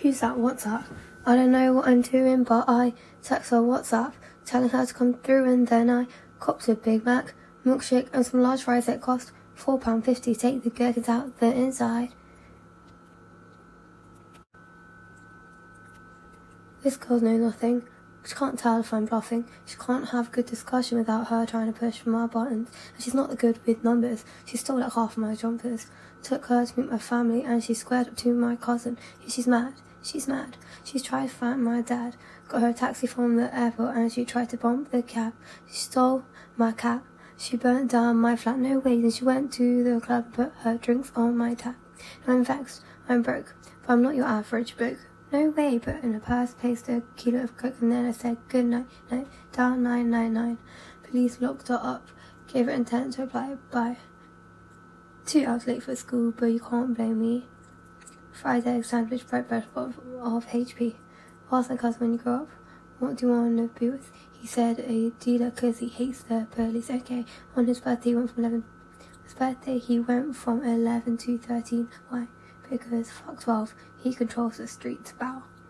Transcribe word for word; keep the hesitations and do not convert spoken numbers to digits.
Who's that? What's that? I don't know what I'm doing, but I text her WhatsApp, telling her to come through, and then I copped a Big Mac, milkshake, and some large fries that cost four pounds fifty. Take the gherkins out the inside. This girl knows nothing. She can't tell if I'm bluffing. She can't have a good discussion without her trying to push my buttons. And she's not good with numbers. She stole like half of my jumpers. Took her to meet my family, and she squared up to my cousin. She's mad. She's mad. She's tried to find my dad. Got her a taxi from the airport, and she tried to bump the cab. She stole my cat. She burnt down my flat. No way. Then she went to the club and put her drinks on my tab. Now I'm vexed. I'm broke. But I'm not your average bloke. No way, but in a purse placed a kilo of coke, and then I said good night, night, dial nine nine nine. Police locked her up, gave her intent to apply. Bye. Two hours late for school, but you can't blame me. Fried egg sandwich, bread, bread of, of H P. Ask my cousin when you grow up, what do you want to be with? He said a dealer because he hates the police. Okay, on his birthday he went from eleven. His birthday he went from eleven to thirteen. Why? Because fuck twelve, he controls the streets. Bow.